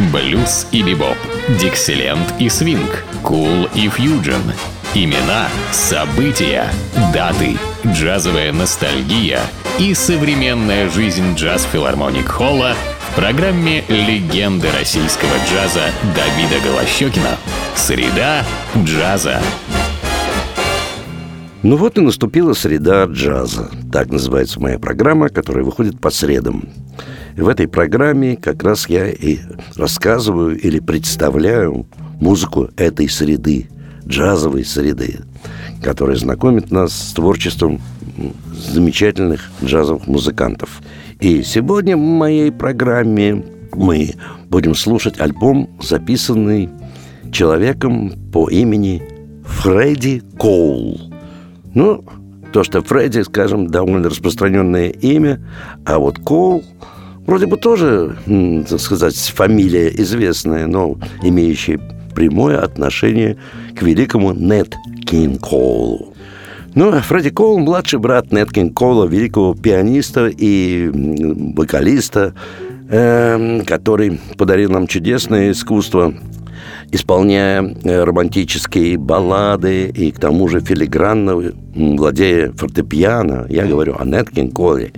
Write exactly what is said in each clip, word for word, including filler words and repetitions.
Блюз и бибоп, диксиленд и свинг, кул и фьюджен. Имена, события, даты, джазовая ностальгия и современная жизнь джаз-филармоник Холла в программе «Легенды российского джаза» Давида Голощёкина. Среда джаза. Ну вот и наступила среда джаза. Так называется моя программа, которая выходит по средам. И в этой программе как раз я и рассказываю или представляю музыку этой среды, джазовой среды, которая знакомит нас с творчеством замечательных джазовых музыкантов. И сегодня в моей программе мы будем слушать альбом, записанный человеком по имени Фредди Коул. Ну, то, что Фредди, скажем, довольно распространенное имя, а вот Коул вроде бы тоже, так сказать, фамилия известная, но имеющая прямое отношение к великому Нэт Кинг Коулу. Ну, Фредди Коул – младший брат Нэт Кинг Коула, великого пианиста и вокалиста, э, который подарил нам чудесное искусство, исполняя романтические баллады и, к тому же, филигранно владея фортепиано. Я говорю о Нэт Кинг Коуле.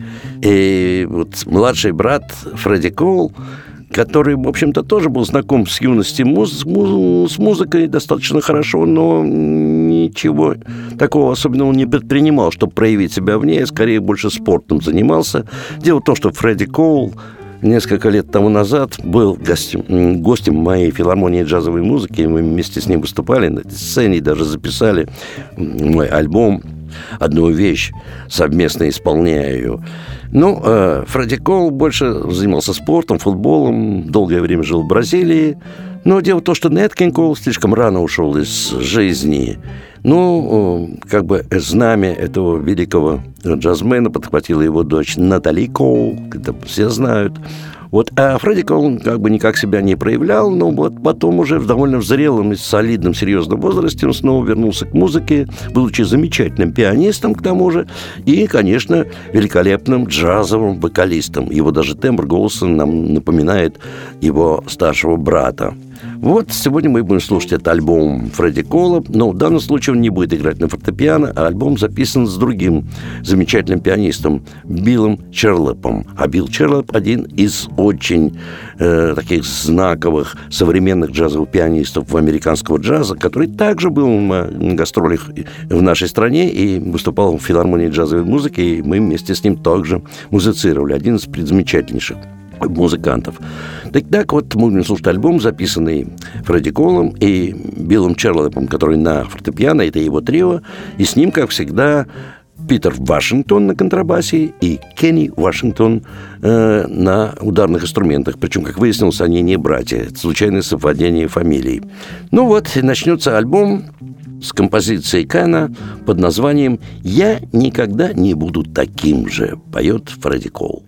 И вот младший брат Фредди Коул, который, в общем-то, тоже был знаком с юности муз- муз- с музыкой достаточно хорошо, но ничего такого особенного не предпринимал, чтобы проявить себя в ней, скорее больше спортом занимался. Дело в том, что Фредди Коул несколько лет тому назад был гостем, гостем моей филармонии джазовой музыки. Мы вместе с ним выступали на этой сцене и даже записали мой альбом, одну вещь, совместно исполняя ее. Ну, э, Фредди Коул больше занимался спортом, футболом, долгое время жил в Бразилии. Но дело в том, что Нэт Кинг Коул слишком рано ушел из жизни. Ну, как бы знамя этого великого джазмена подхватила его дочь Натали Коул, это все знают. Вот, а Фредди Коул как бы никак себя не проявлял, но вот потом уже в довольно зрелом и солидном, серьезном возрасте он снова вернулся к музыке, будучи замечательным пианистом к тому же, и, конечно, великолепным джазовым вокалистом. Его даже тембр голоса нам напоминает его старшего брата. Вот сегодня мы будем слушать этот альбом Фредди Коула, но в данном случае он не будет играть на фортепиано, а альбом записан с другим замечательным пианистом Биллом Черлопом. А Билл Черлоп один из очень э, таких знаковых современных джазовых пианистов американского джаза, который также был на гастролях в нашей стране и выступал в филармонии джазовой музыки, и мы вместе с ним также музицировали. Один из замечательнейших музыкантов. Так, так вот, мы будем слушать альбом, записанный Фредди Коулом и Биллом Черлопом, который на фортепиано, это его трио, и с ним, как всегда, Питер Вашингтон на контрабасе и Кенни Вашингтон э, на ударных инструментах. Причем, как выяснилось, они не братья. Это случайное совпадение фамилий. Ну вот, и начнется альбом с композицией Кена под названием «Я никогда не буду таким же», поет Фредди Коул.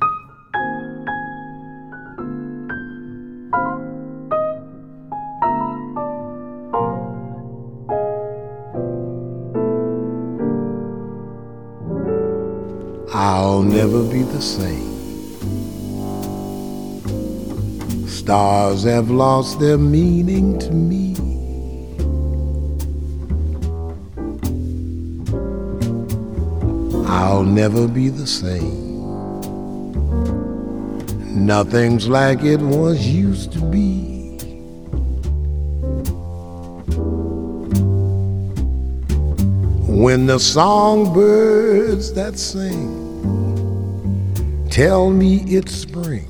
I'll never be the same. Stars have lost their meaning to me. I'll never be the same. Nothing's like it once used to be. When the songbirds that sing tell me it's spring,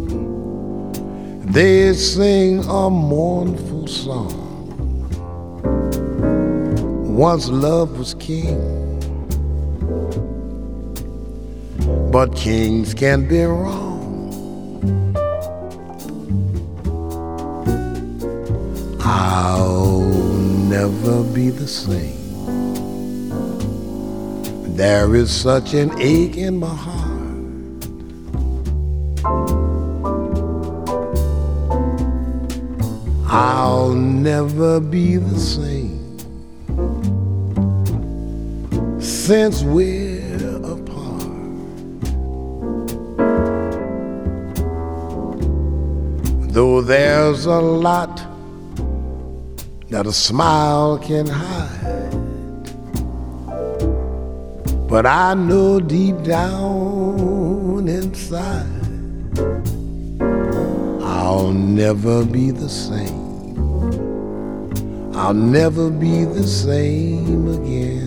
they sing a mournful song. Once love was king, but kings can be wrong. I'll never be the same. There is such an ache in my heart. I'll never be the same since we're apart. Though there's a lot that a smile can hide, but I know deep down inside I'll never be the same. I'll never be the same again.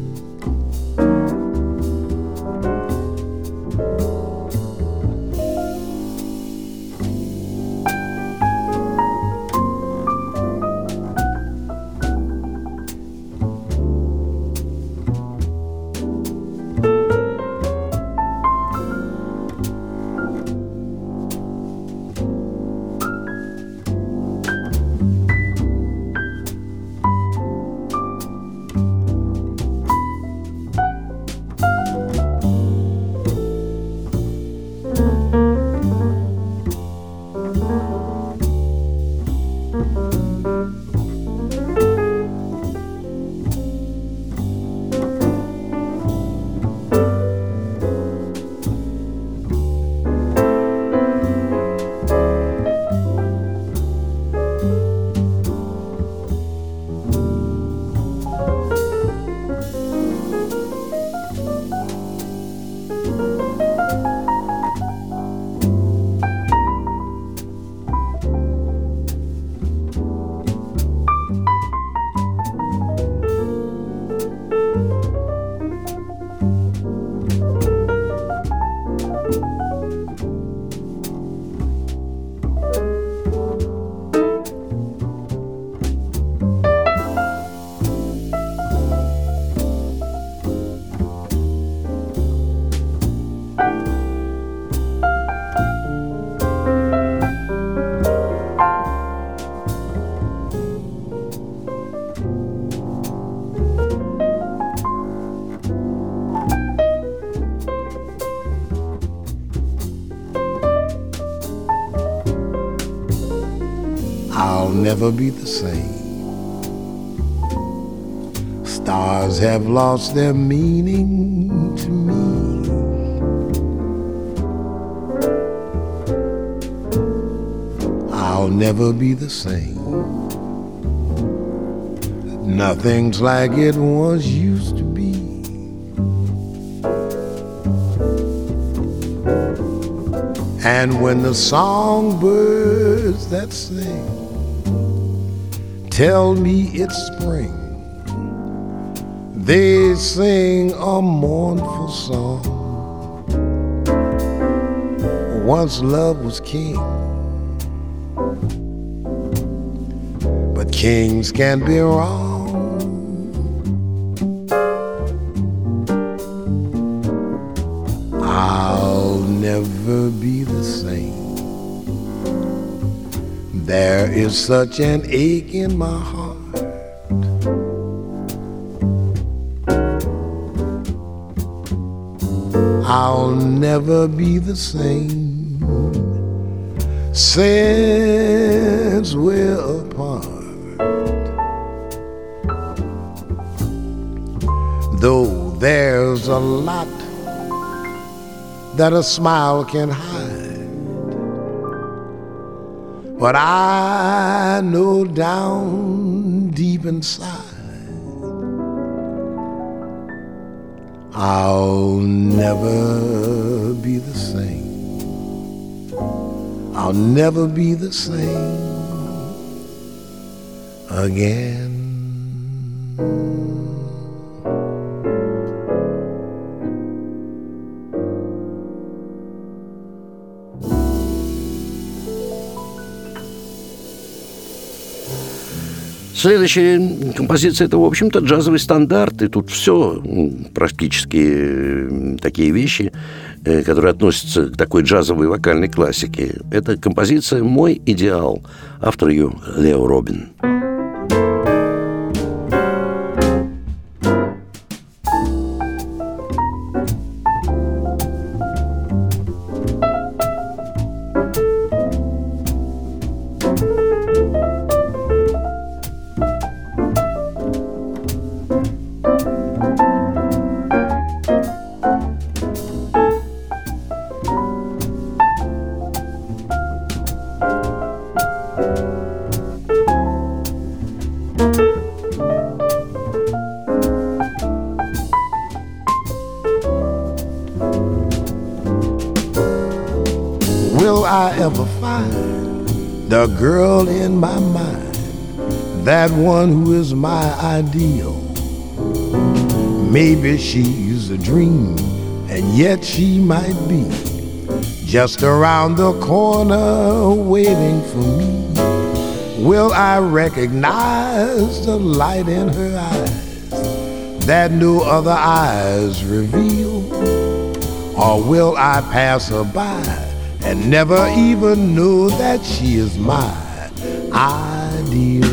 I'll never be the same. Stars have lost their meaning to me. I'll never be the same. Nothing's like it once used to be. And when the songbirds that sing tell me it's spring, they sing a mournful song. Once love was king, but kings can't be wrong. I'll never be the same. There is such an ache in my heart. I'll never be the same since we're apart. Though there's a lot that a smile can hide, but I know down deep inside I'll never be the same. I'll never be the same again. Следующая композиция – это, в общем-то, джазовый стандарт. И тут все практически такие вещи, которые относятся к такой джазовой вокальной классике. Это композиция «Мой идеал». Автор ее Лео Робин. will I ever find the girl in my mind, that one who is my ideal? Maybe she's a dream, and yet she might be just around the corner waiting for me. Will I recognize the light in her eyes that no other eyes reveal? Or will I pass her by and never even know that she is my ideal?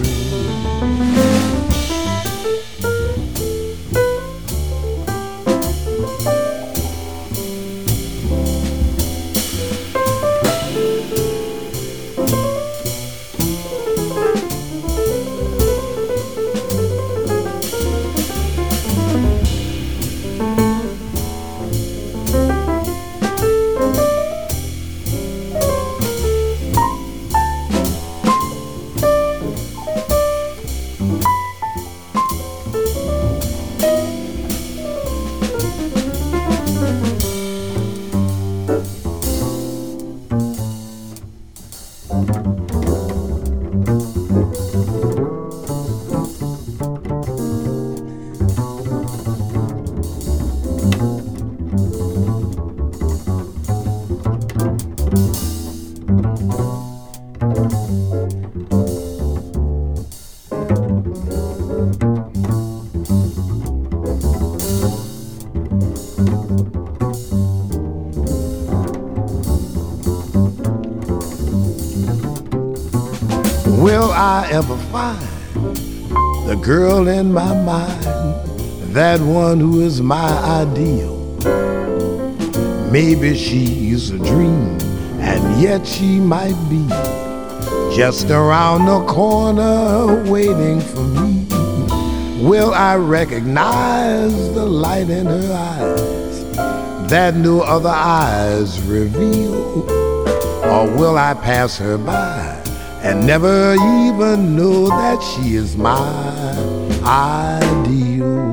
Will I ever find the girl in my mind, that one who is my ideal? Maybe she's a dream, and yet she might be just around the corner waiting for me. Will I recognize the light in her eyes that no other eyes reveal? Or will I pass her by and never even know that she is my ideal?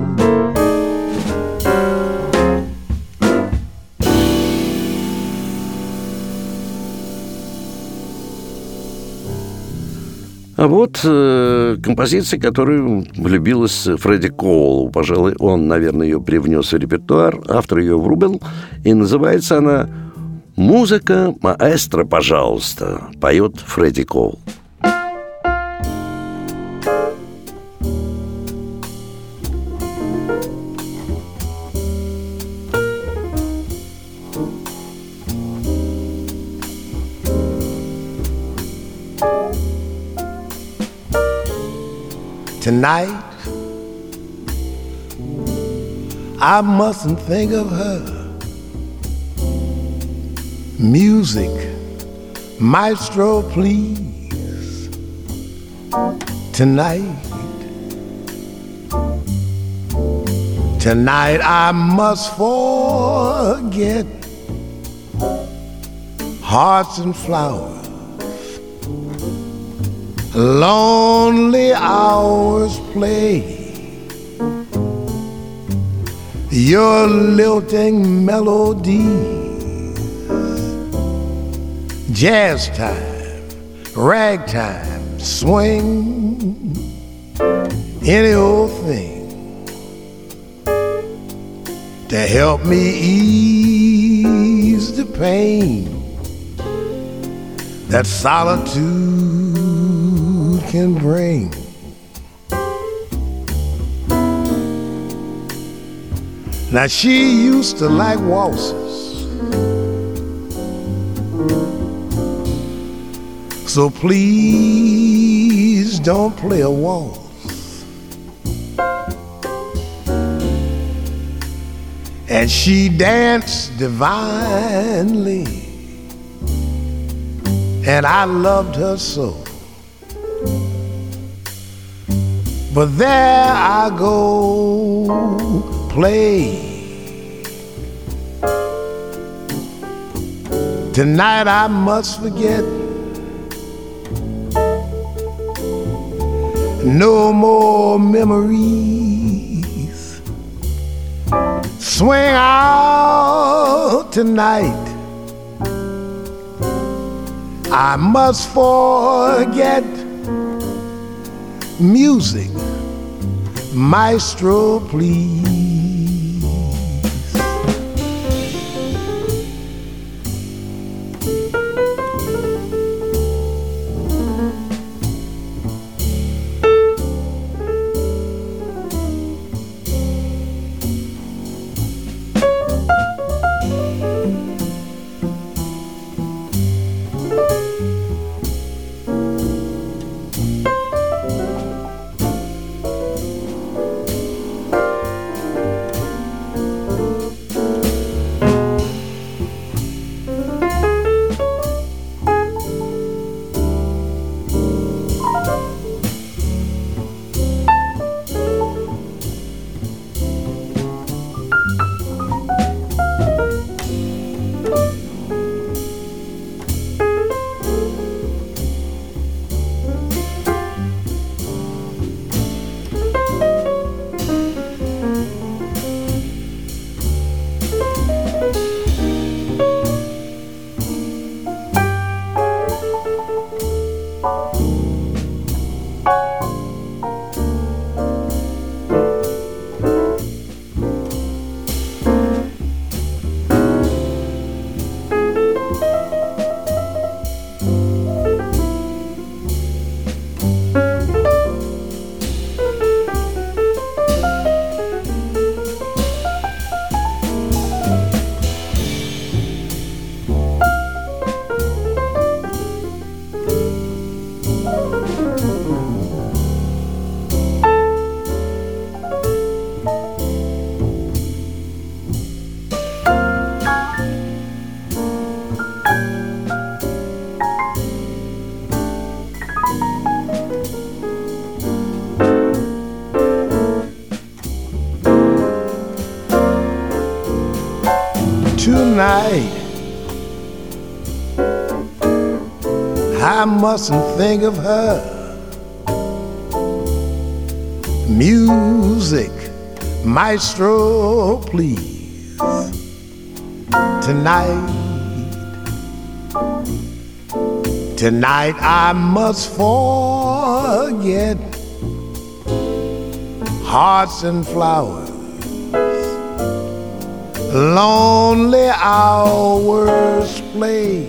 А вот э, композиция, которую влюбилась Фредди Коулу. Пожалуй, он, наверное, ее привнес в репертуар, автор ее врубил, и называется она «Музыка маэстро, пожалуйста», поет Фредди Коул. Tonight, I mustn't think of her. Music, maestro, please. Tonight, tonight I must forget hearts and flowers, lonely hours play. Your lilting melodies, jazz time, ragtime, swing, any old thing to help me ease the pain that solitude can bring. Now she used to like waltzes, so please don't play a waltz. And she danced divinely, and I loved her so. But there I go, play. Tonight I must forget. No more memories. Swing out tonight. I must forget music, maestro, please. Tonight, I mustn't think of her. Music, maestro, please. Tonight, tonight I must forget hearts and flowers, lonely hours play,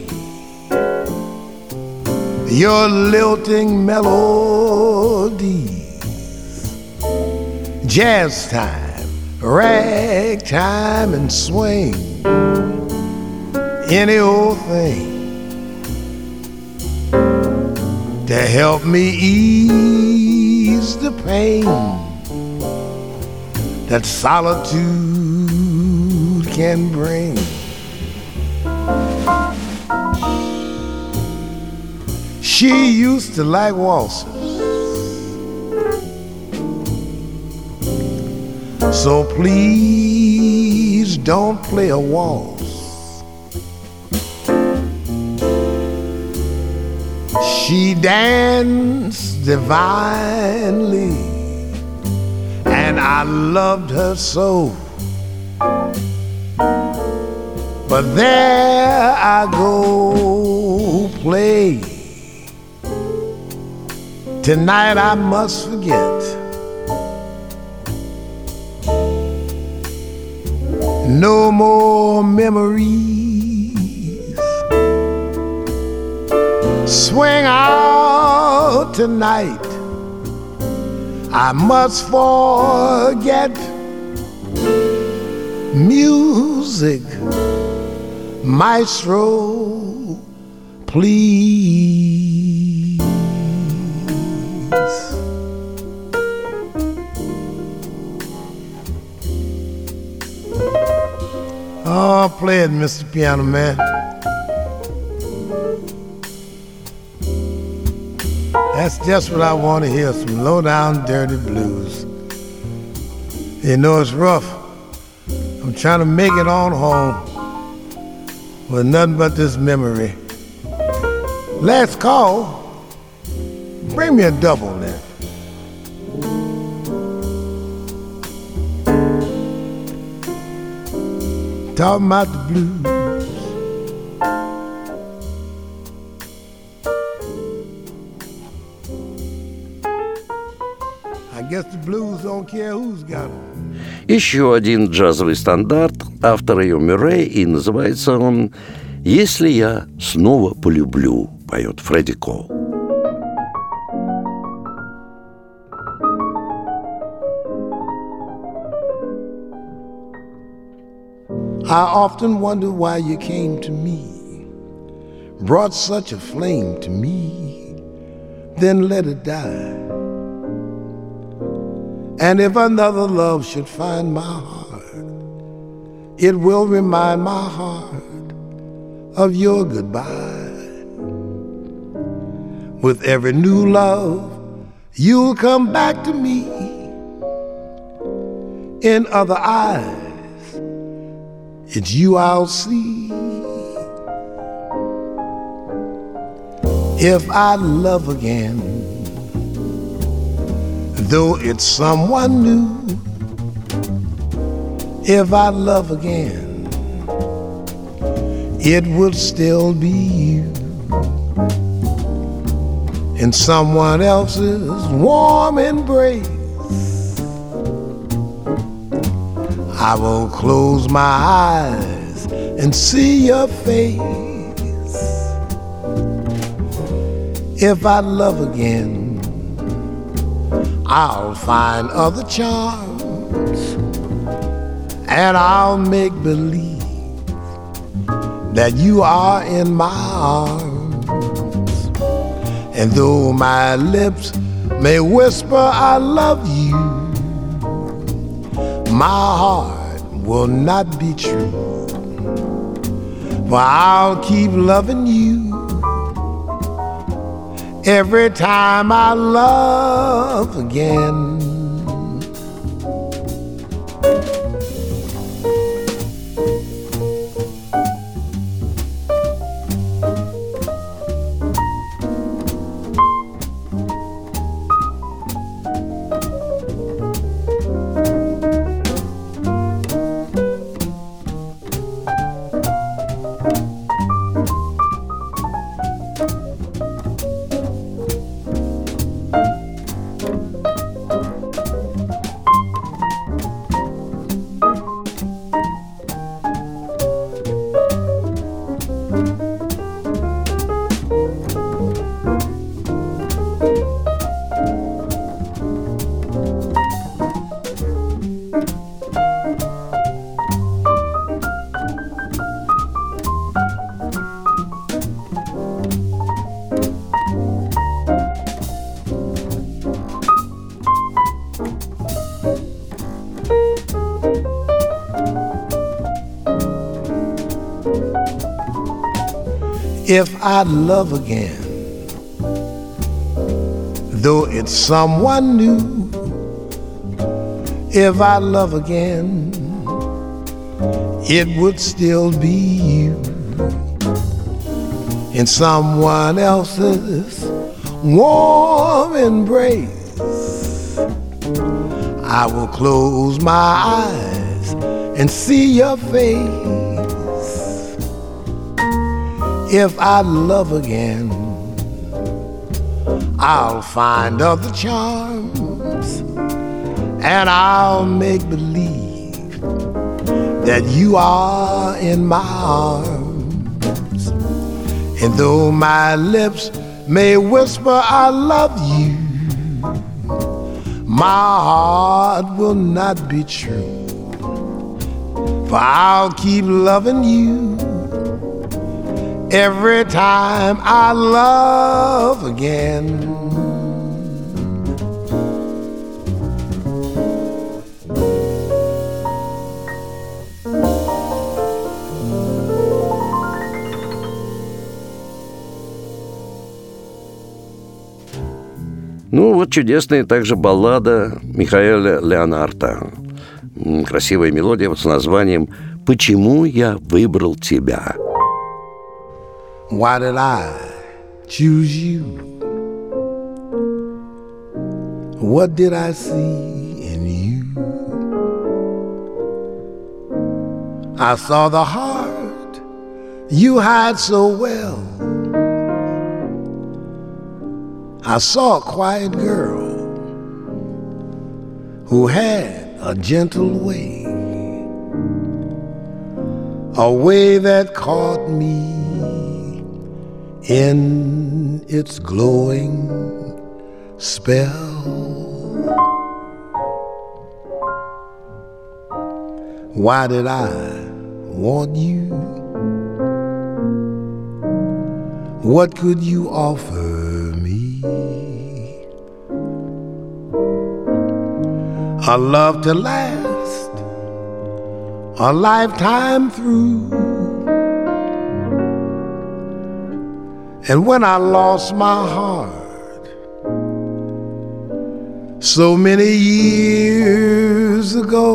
your lilting melodies, jazz time, ragtime and swing, any old thing to help me ease the pain that solitude can bring. She used to like waltzes, so please don't play a waltz. She danced divinely, and I loved her so. But there I go play. Tonight I must forget. No more memories. Swing out tonight. I must forget music, maestro, please. Oh, play it, Mister Piano Man. That's just what I want to hear, some low-down dirty blues. You know it's rough. I'm trying to make it on home with nothing but this memory. Last call. Bring me a double then. Talking about the blues. guess the blues don't care who's got them. Еще один джазовый стандарт автора Йо Мюррей, и называется он «Если я снова полюблю», поет Фредди Кол. I often wonder why you came to me, brought such a flame to me, then let it die. And if another love should find my heart, it will remind my heart of your goodbye. With every new love, you'll come back to me in other eyes. It's you I'll see. If I love again, though it's someone new, if I love again, it will still be you in someone else's warm embrace. I will close my eyes and see your face. If I love again, I'll find other charms, and I'll make believe that you are in my arms. And though my lips may whisper I love you, my heart will not be true, for I'll keep loving you every time I love again. If I love again, though it's someone new, if I love again, it would still be you in someone else's warm embrace. I will close my eyes and see your face. If I love again, I'll find other charms, and I'll make believe that you are in my arms. And though my lips may whisper I love you, my heart will not be true, for I'll keep loving you every time I love again. Ну, вот чудесная также баллада Михаэля Леонарда. Красивая мелодия с названием «Почему я выбрал тебя?» Why did I choose you? What did I see in you? I saw the heart you hide so well. I saw a quiet girl who had a gentle way, a way that caught me in its glowing spell. Why did I want you? What could you offer me? A love to last a lifetime through. And when I lost my heart so many years ago,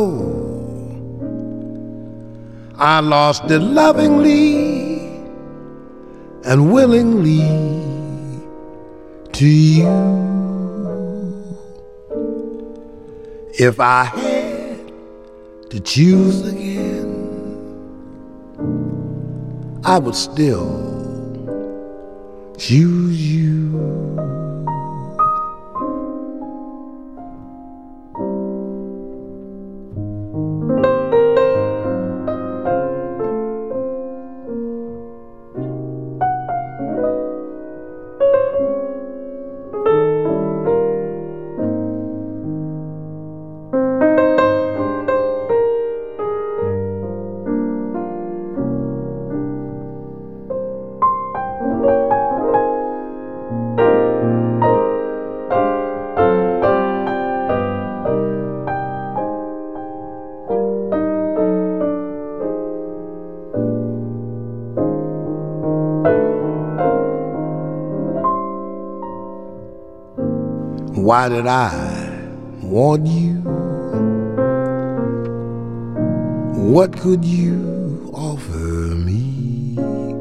I lost it lovingly and willingly to you. If I had to choose again, I would still choose you. Why did I want you? What could you offer me?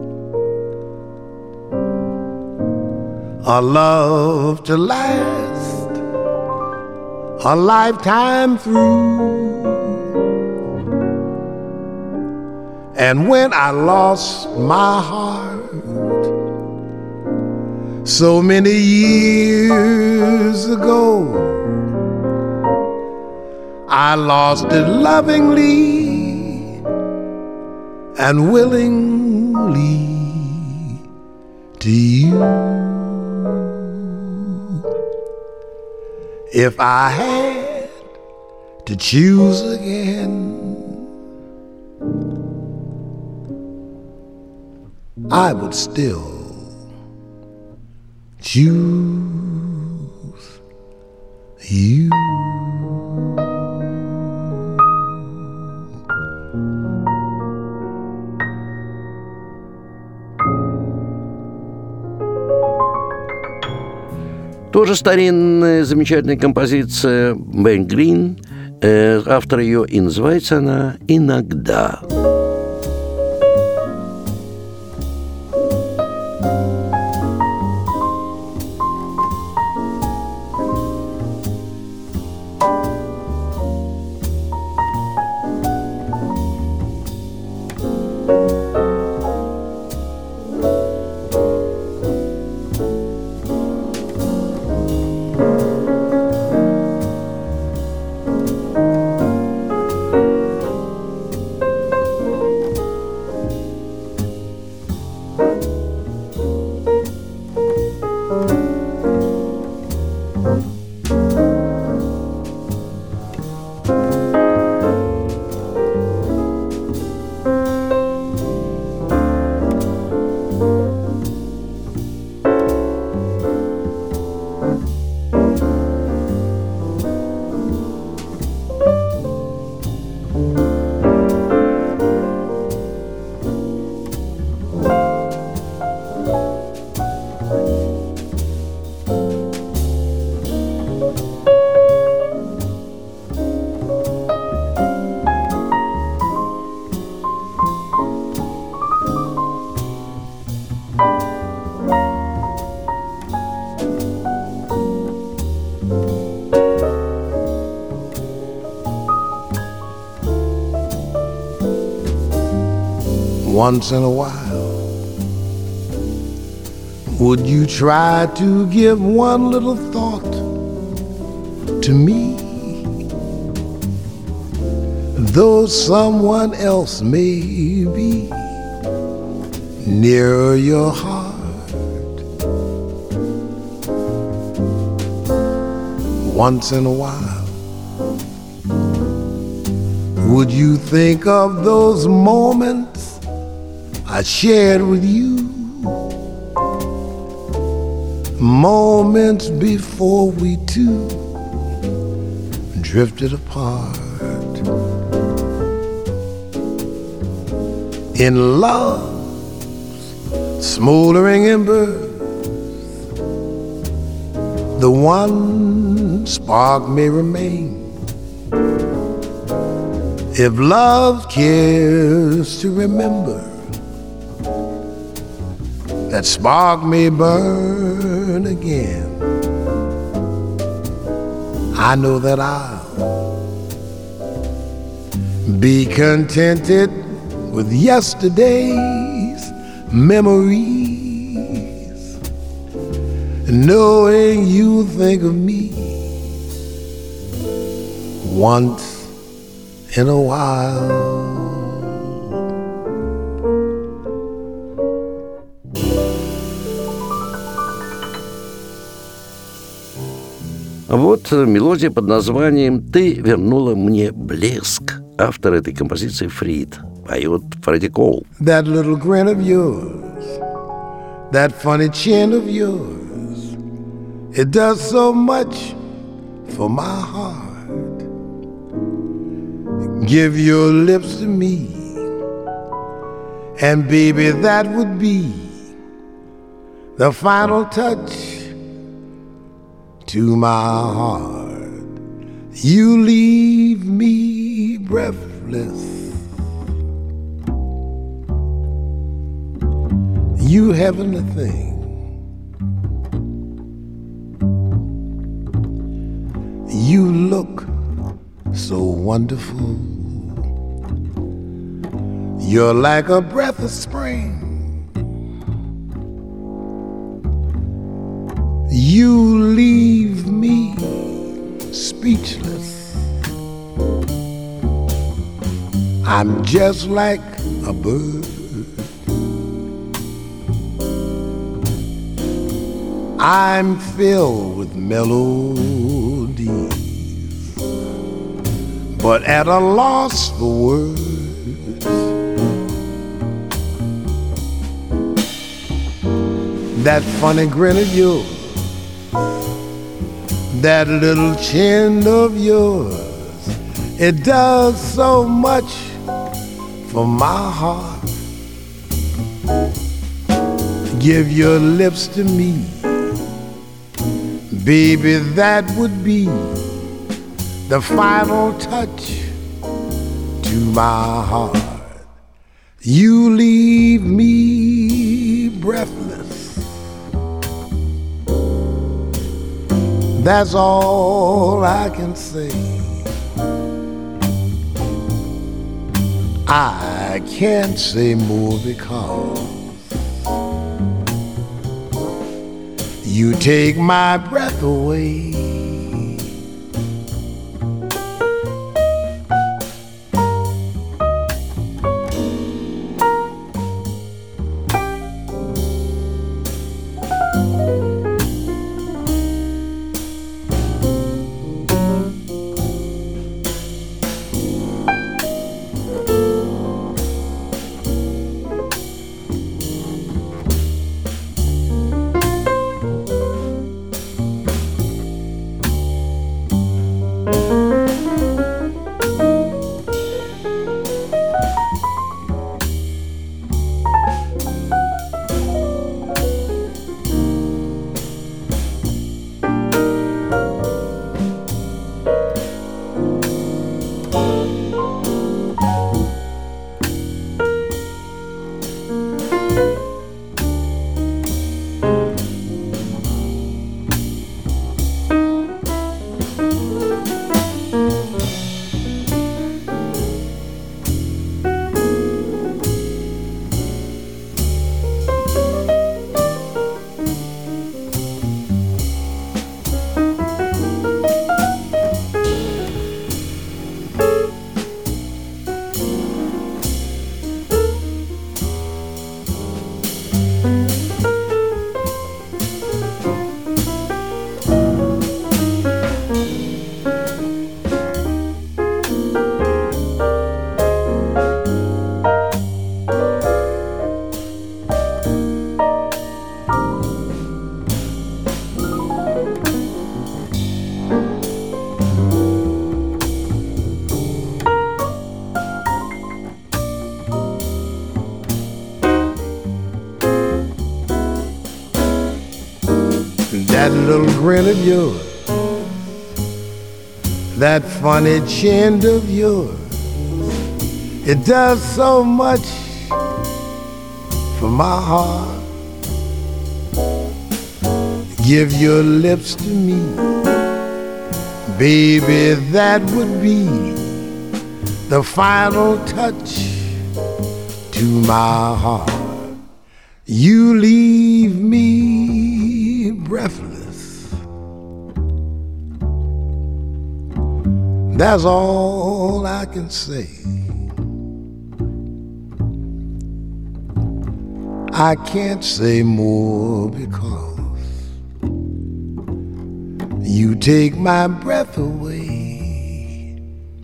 A love to last a lifetime through. And when I lost my heart so many years ago, I lost it lovingly and willingly to you. If I had to choose again, I would still choose you. Тоже старинная замечательная композиция Ben Green. Э, автор ее, и называется она «Иногда». Once in a while, would you try to give one little thought to me? though someone else may be near your heart. Once in a while, would you think of those moments I shared with you? Moments before we two drifted apart. In love's smoldering embers, the one spark may remain. If love cares to remember, that spark may burn again. I know that I'll be contented with yesterday's memories, knowing you think of me once in a while. Вот мелодия под названием «Ты вернула мне блеск». Автор этой композиции Фрид. Поет Фредди Коул. That little grin of yours, that funny chin of yours, it does so much for my heart. Give your lips to me, and baby, that would be the final touch to my heart. You leave me breathless. You haven't a thing. You look so wonderful. You're like a breath of spring. You leave me speechless. I'm just like a bird. I'm filled with melodies, but at a loss for words. That funny grin of yours, that little chin of yours, it does so much for my heart. Give your lips to me, baby, that would be the final touch to my heart. You leave me breathless. That's all I can say. I can't say more because you take my breath away. that little grin of yours, that funny chin of yours, it does so much for my heart. Give your lips to me, baby, that would be the final touch to my heart. You leave me breathless. That's all I can say. I can't say more because you take my breath away.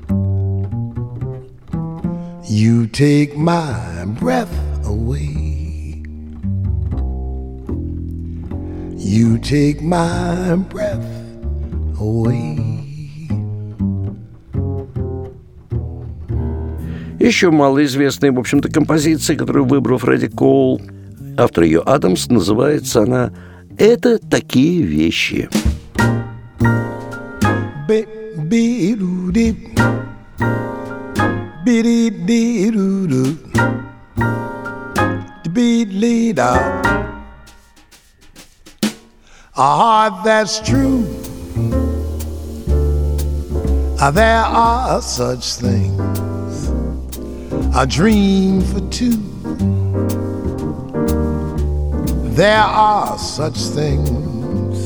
You take my breath away. You take my breath away. Еще малоизвестная, в общем-то, композиция, которую выбрал Фредди Коул, автор ее Адамс, называется она «Это такие вещи». A heart that's true, there are such things, a dream for two. There are such things,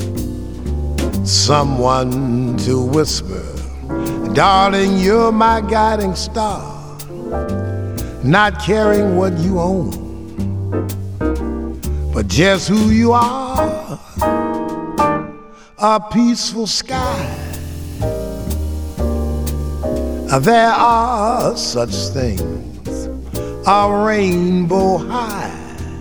someone to whisper, darling, you're my guiding star, not caring what you own, but just who you are, a peaceful sky. There are such things, a rainbow high,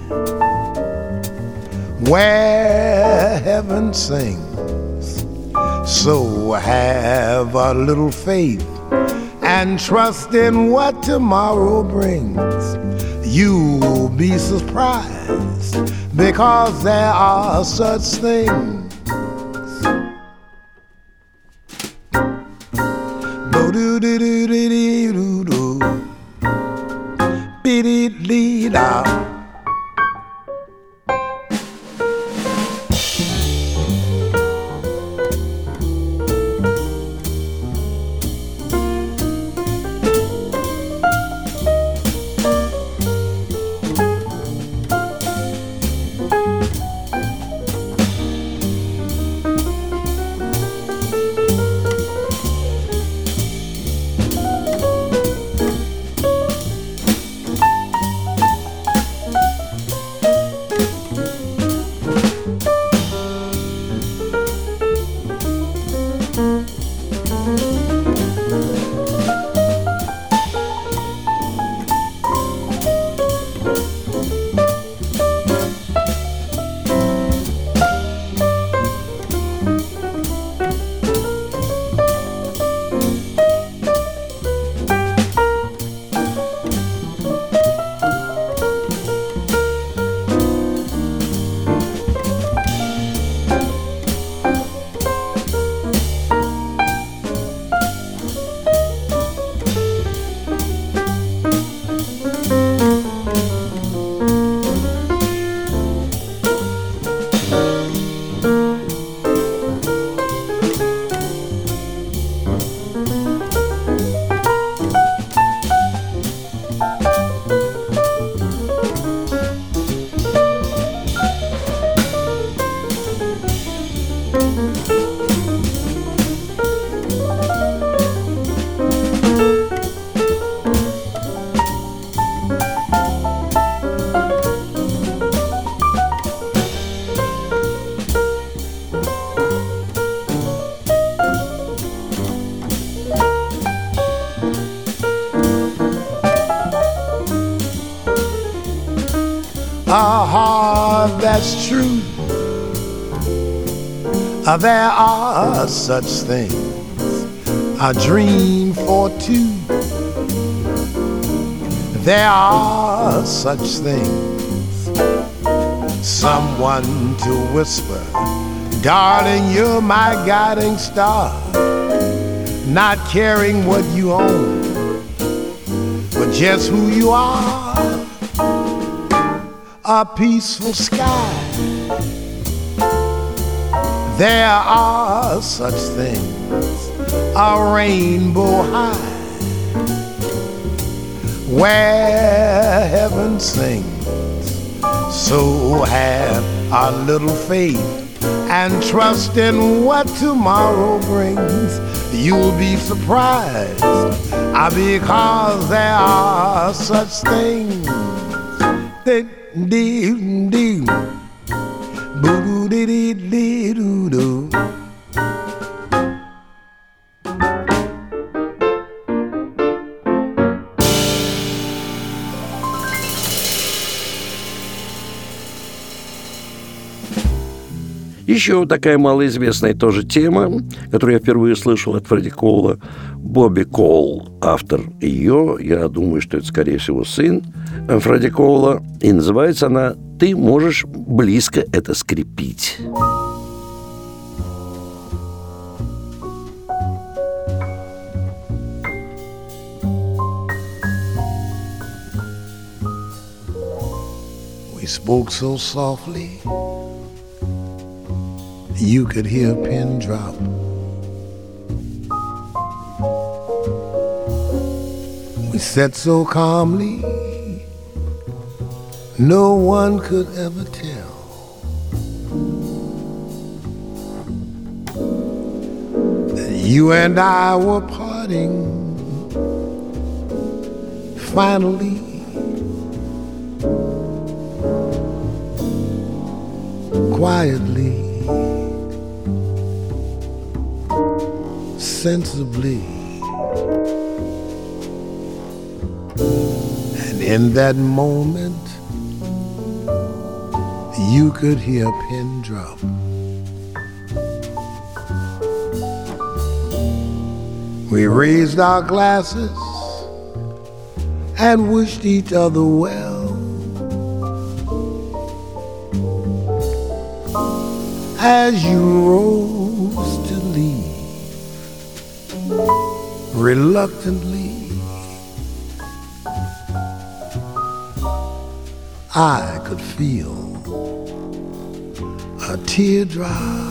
where heaven sings. So have a little faith and trust in what tomorrow brings. You'll be surprised because there are such things. Bo-do-do-do-do-do-do, be-dee-dee-da. A heart that's true, there are such things, a dream for two. There are such things, someone to whisper, Darling, you're my guiding star, not caring what you own, but just who you are. A peaceful sky, there are such things, a rainbow high, where heaven sings. So have a little faith and trust in what tomorrow brings. You'll be surprised, uh, because there are such things. Dee dee dee, boo dee dee dee doo doo. Еще такая малоизвестная тоже тема, которую я впервые слышал от Фредди Коула. Бобби Коул, автор ее, я думаю, что это, скорее всего, сын Фредди Коула. И называется она «Ты можешь близко это скрепить». We spoke so softly you could hear a pin drop. We said so calmly no one could ever tell. That you and I were parting finally. Quietly, sensibly, and in that moment you could hear a pin drop. We raised our glasses and wished each other well. As you rose to leave, reluctantly, I could feel a teardrop.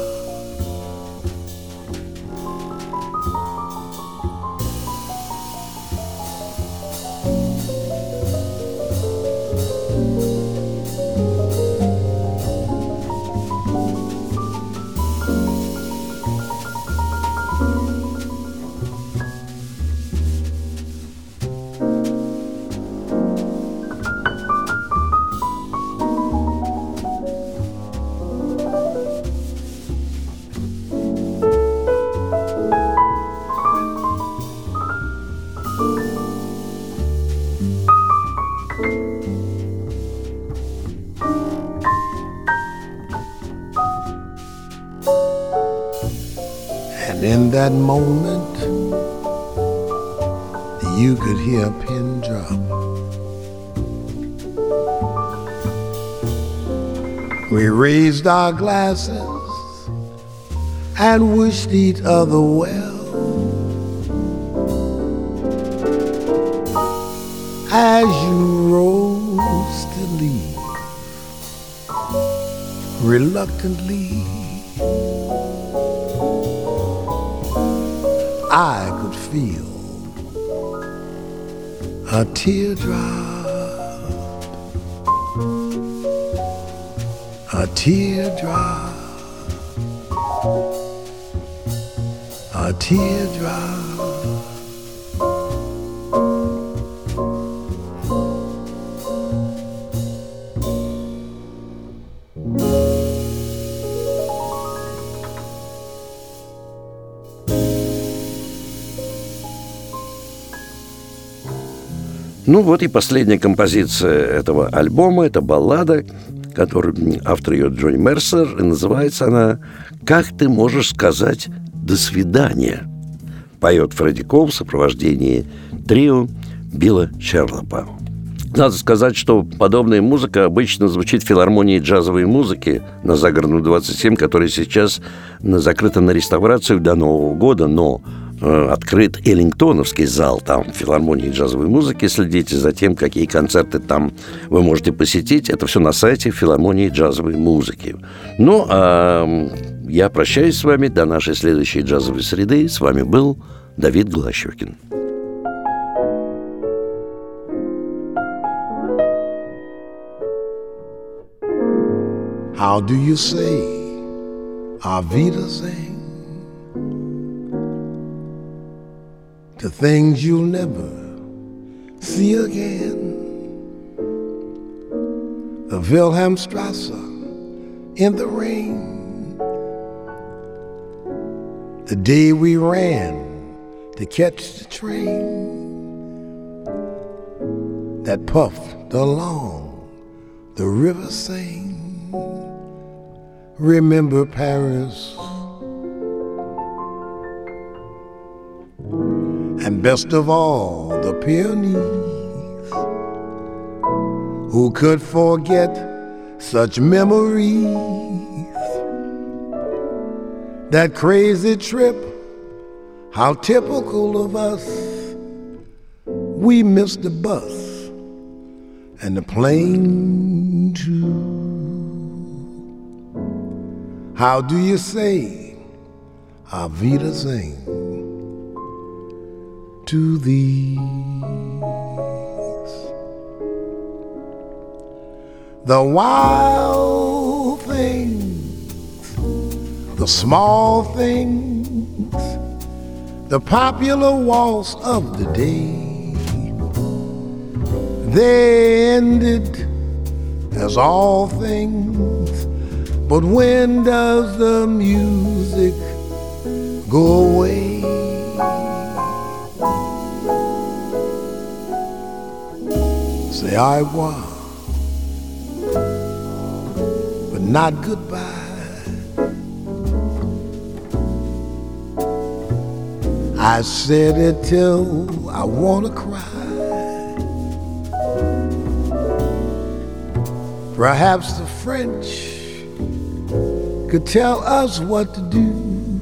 And in that moment, you could hear a pin drop. We raised our glasses and wished each other well. As you rose to leave, reluctantly, I could feel a teardrop, a teardrop, a teardrop. Ну вот и последняя композиция этого альбома. Это баллада, которую автор ее Джонни Мерсер, и называется она «Как ты можешь сказать «до свидания»?» Поет Фредди Коул в сопровождении трио Билла Шерлопа. Надо сказать, что подобная музыка обычно звучит в филармонии джазовой музыки на Загородную двадцать семь, которая сейчас закрыта на реставрацию до Нового года, но э, открыт Эллингтоновский зал там, в филармонии джазовой музыки. Следите за тем, какие концерты там вы можете посетить. Это все на сайте филармонии джазовой музыки. Ну, а я прощаюсь с вами до нашей следующей джазовой среды. С вами был Давид Голощёкин. How do you say Auf Wiedersehen to things you'll never see again? The Wilhelmstrasse in the rain, the day we ran to catch the train that puffed along the river Seine. Remember Paris, and best of all, the Pyrenees. Who could forget such memories? That crazy trip, how typical of us. We missed the bus and the plane too. How do you say Auf Wiedersehen to these? The wild things, the small things, the popular waltz of the day, they ended as all things. But when does the music go away? Say au revoir, but not goodbye. I said it till I wanna cry. Perhaps the French could tell us what to do.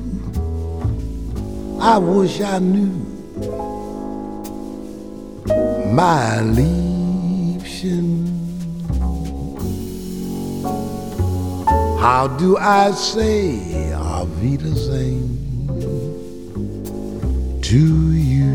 I wish I knew my Liebchen. How do I say Auf Wiedersehen to you?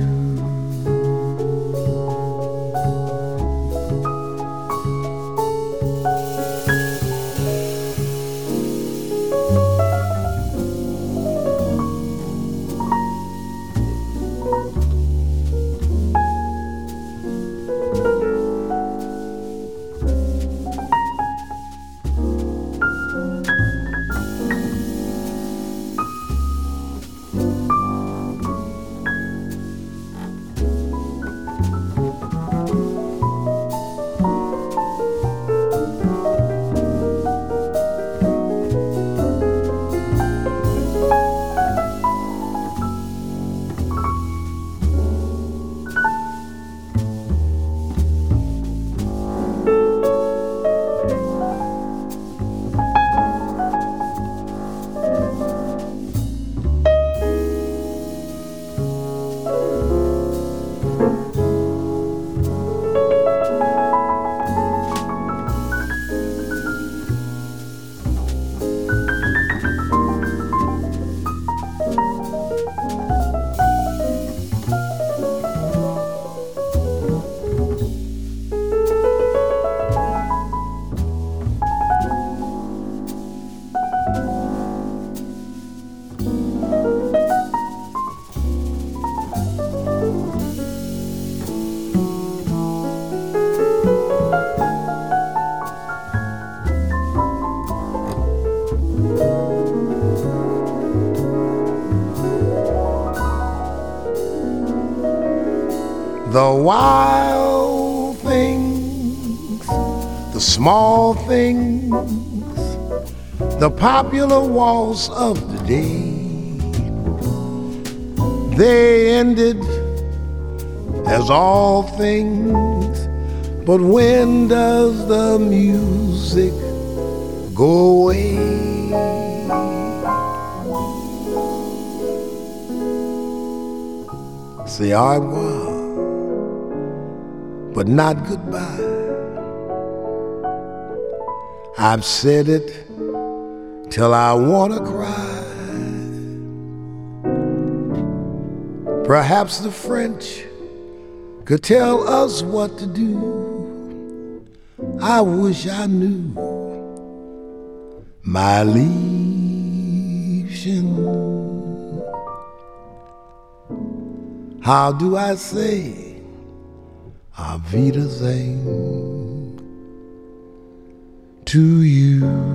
The wild things, the small things, the popular waltz of the day, they ended as all things. But when does the music go away? Say au revoir, but not goodbye. I've said it till I wanna cry. Perhaps the French could tell us what to do. I wish I knew, my Liebchen. How do I say Auf Wiedersehen to you?